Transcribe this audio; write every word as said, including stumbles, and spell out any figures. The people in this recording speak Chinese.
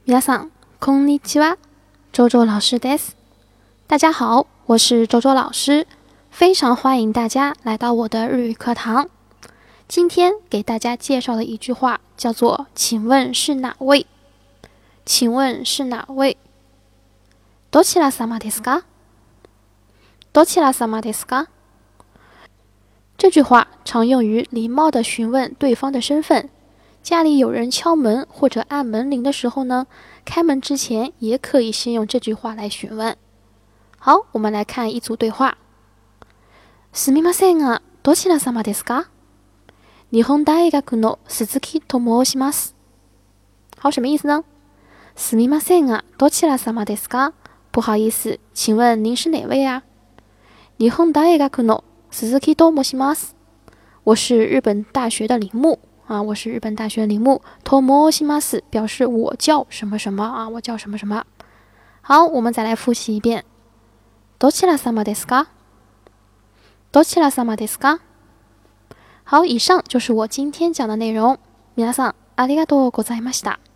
皆さん、こんにちは。周周老师です。大家好，我是周周老师，非常欢迎大家来到我的日语课堂。今天给大家介绍的一句话叫做“请问是哪位？”请问是哪位？どちら様ですか？どちら様ですか？这句话常用于礼貌地询问对方的身份。家里有人敲门或者按门铃的时候呢，开门之前也可以先用这句话来询问。好，我们来看一组对话。すみませんが、どちら様ですか？日本大学の鈴木と申します。好，什么意思呢？すみませんが、どちら様ですか？不好意思，请问您是哪位啊？日本大学の鈴木と申します。我是日本大学的铃木。啊，我是日本大学铃木。と申します表示我叫什么什么啊，我叫什么什么。好，我们再来复习一遍。どちら様ですか？どちら様ですか？好，以上就是我今天讲的内容。皆さんありがとうございました。